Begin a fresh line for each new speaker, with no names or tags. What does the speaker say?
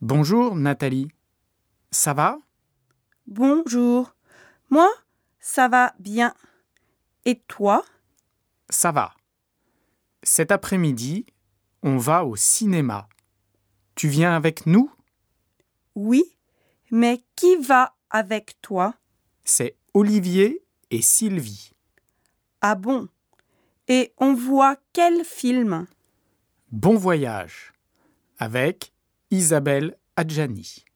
Bonjour Nathalie, ça va?
Bonjour. Moi, ça va bien. Et toi?
Ça va. Cet après-midi, on va au cinéma. Tu viens avec nous?
Oui, mais qui va avec toi?
C'est Olivier et Sylvie.
Ah bon? Et on voit quel film?
Bon voyage avec Isabelle Adjani.